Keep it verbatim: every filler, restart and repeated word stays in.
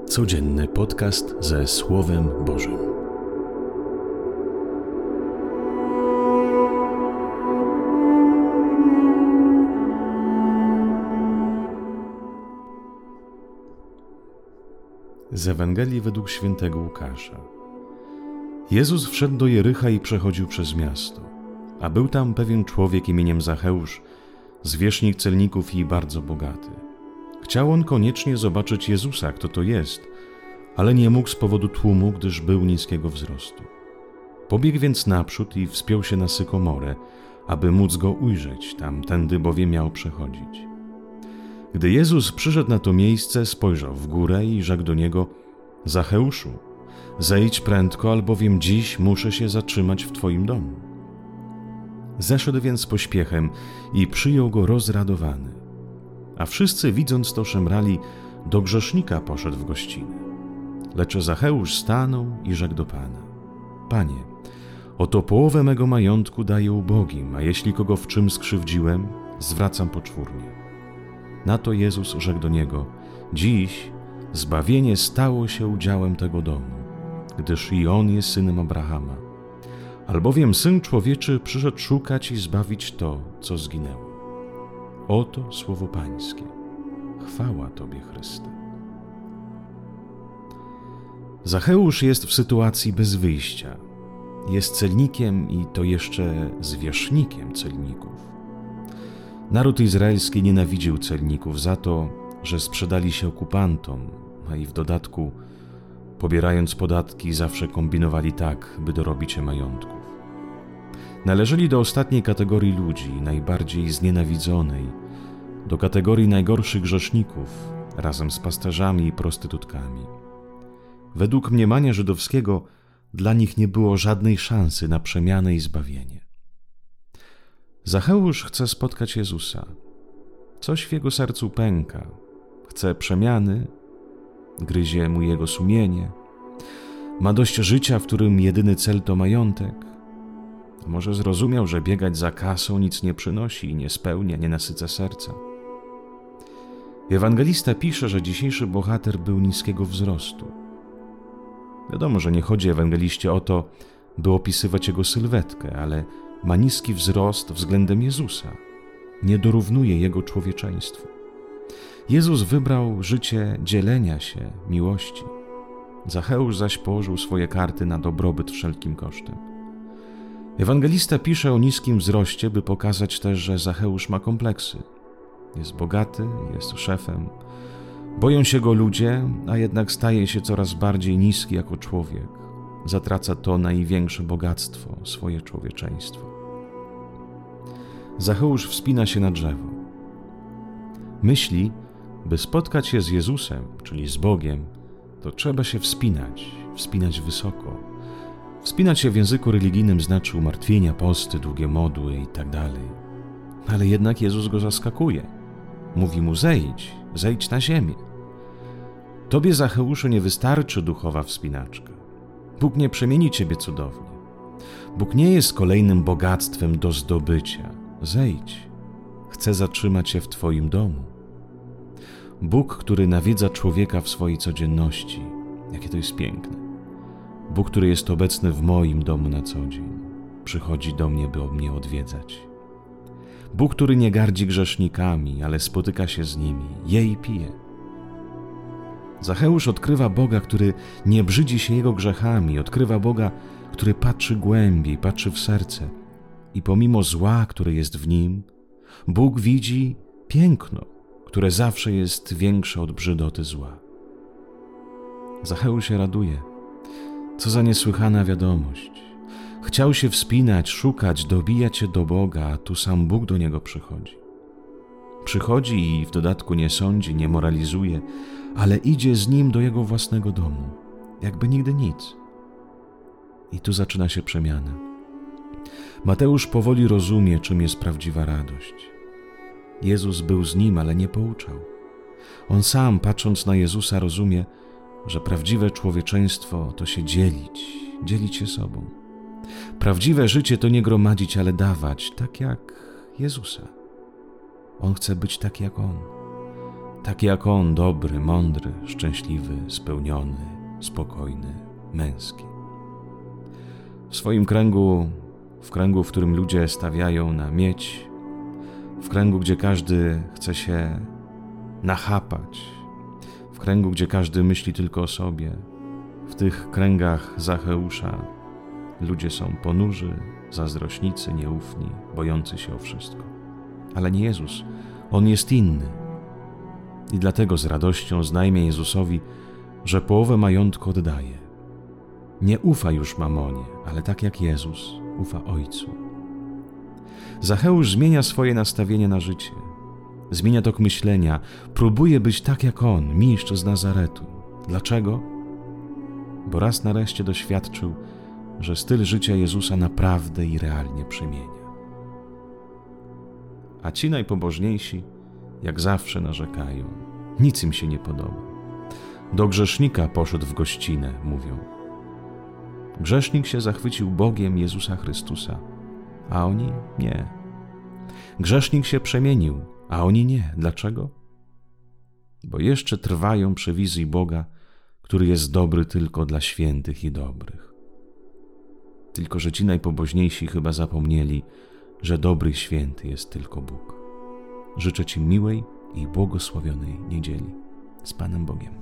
Codzienny podcast ze Słowem Bożym. Z Ewangelii według świętego Łukasza. Jezus wszedł do Jericha i przechodził przez miasto, a był tam pewien człowiek imieniem Zacheusz, zwierzchnik celników i bardzo bogaty. Chciał on koniecznie zobaczyć Jezusa, kto to jest, ale nie mógł z powodu tłumu, gdyż był niskiego wzrostu. Pobiegł więc naprzód i wspiął się na sykomorę, aby móc go ujrzeć, tamtędy bowiem miał przechodzić. Gdy Jezus przyszedł na to miejsce, spojrzał w górę i rzekł do niego: Zacheuszu, zejdź prędko, albowiem dziś muszę się zatrzymać w Twoim domu. Zeszedł więc z pośpiechem i przyjął go rozradowany. A wszyscy, widząc to, szemrali: do grzesznika poszedł w gościnę. Lecz Zacheusz stanął i rzekł do Pana: Panie, oto połowę mego majątku daję ubogim, a jeśli kogo w czym skrzywdziłem, zwracam poczwórnie. Na to Jezus rzekł do niego: dziś zbawienie stało się udziałem tego domu, gdyż i on jest synem Abrahama. Albowiem Syn Człowieczy przyszedł szukać i zbawić to, co zginęło. Oto słowo Pańskie. Chwała Tobie, Chryste. Zacheusz jest w sytuacji bez wyjścia. Jest celnikiem i to jeszcze zwierzchnikiem celników. Naród izraelski nienawidził celników za to, że sprzedali się okupantom, a i w dodatku, pobierając podatki, zawsze kombinowali tak, by dorobić się majątków. Należeli do ostatniej kategorii ludzi, najbardziej znienawidzonej, do kategorii najgorszych grzeszników, razem z pasterzami i prostytutkami. Według mniemania żydowskiego dla nich nie było żadnej szansy na przemianę i zbawienie. Zacheusz chce spotkać Jezusa. Coś w jego sercu pęka. Chce przemiany, gryzie mu jego sumienie. Ma dość życia, w którym jedyny cel to majątek. Może zrozumiał, że biegać za kasą nic nie przynosi i nie spełnia, nie nasyca serca. Ewangelista pisze, że dzisiejszy bohater był niskiego wzrostu. Wiadomo, że nie chodzi ewangeliście o to, by opisywać jego sylwetkę, ale ma niski wzrost względem Jezusa. Nie dorównuje jego człowieczeństwu. Jezus wybrał życie dzielenia się, miłości. Zacheusz zaś położył swoje karty na dobrobyt wszelkim kosztem. Ewangelista pisze o niskim wzroście, by pokazać też, że Zacheusz ma kompleksy. Jest bogaty, jest szefem. Boją się go ludzie, a jednak staje się coraz bardziej niski jako człowiek. Zatraca to największe bogactwo, swoje człowieczeństwo. Zacheusz wspina się na drzewo. Myśli, by spotkać się z Jezusem, czyli z Bogiem, to trzeba się wspinać, wspinać wysoko. Wspinać się w języku religijnym znaczy umartwienia, posty, długie modły i tak dalej. Ale jednak Jezus go zaskakuje. Mówi mu: zejdź, zejdź na ziemię. Tobie, Zacheuszu, nie wystarczy duchowa wspinaczka. Bóg nie przemieni ciebie cudownie. Bóg nie jest kolejnym bogactwem do zdobycia. Zejdź. Chce zatrzymać się w Twoim domu. Bóg, który nawiedza człowieka w swojej codzienności. Jakie to jest piękne. Bóg, który jest obecny w moim domu na co dzień. Przychodzi do mnie, by mnie odwiedzać. Bóg, który nie gardzi grzesznikami, ale spotyka się z nimi, je i pije. Zacheusz odkrywa Boga, który nie brzydzi się jego grzechami, odkrywa Boga, który patrzy głębiej, patrzy w serce i pomimo zła, które jest w nim, Bóg widzi piękno, które zawsze jest większe od brzydoty zła. Zacheusz się raduje. Co za niesłychana wiadomość. Chciał się wspinać, szukać, dobijać się do Boga, a tu sam Bóg do niego przychodzi. Przychodzi i w dodatku nie sądzi, nie moralizuje, ale idzie z nim do jego własnego domu, jakby nigdy nic. I tu zaczyna się przemiana. Mateusz powoli rozumie, czym jest prawdziwa radość. Jezus był z nim, ale nie pouczał. On sam, patrząc na Jezusa, rozumie, że prawdziwe człowieczeństwo to się dzielić, dzielić się sobą. Prawdziwe życie to nie gromadzić, ale dawać, tak jak Jezusa. On chce być tak jak On. taki jak on, dobry, mądry, szczęśliwy, spełniony, spokojny, męski. W swoim kręgu, w kręgu, w którym ludzie stawiają na miedź, w kręgu, gdzie każdy chce się nachapać, w kręgu, gdzie każdy myśli tylko o sobie, w tych kręgach Zacheusza ludzie są ponurzy, zazdrośnicy, nieufni, bojący się o wszystko. Ale nie Jezus, On jest inny. I dlatego z radością znajmie Jezusowi, że połowę majątku oddaje. Nie ufa już mamonie, ale tak jak Jezus ufa Ojcu. Zacheusz zmienia swoje nastawienie na życie. Zmienia tok myślenia. Próbuje być tak jak On, mistrz z Nazaretu. Dlaczego? Bo raz nareszcie doświadczył, że styl życia Jezusa naprawdę i realnie przemienia. A ci najpobożniejsi, jak zawsze, narzekają. Nic im się nie podoba. Do grzesznika poszedł w gościnę, mówią. Grzesznik się zachwycił Bogiem Jezusa Chrystusa, a oni nie. Grzesznik się przemienił, a oni nie. Dlaczego? Bo jeszcze trwają przy wizji Boga, który jest dobry tylko dla świętych i dobrych. Tylko że ci najpobożniejsi chyba zapomnieli, że dobry i święty jest tylko Bóg. Życzę Ci miłej i błogosławionej niedzieli. Z Panem Bogiem.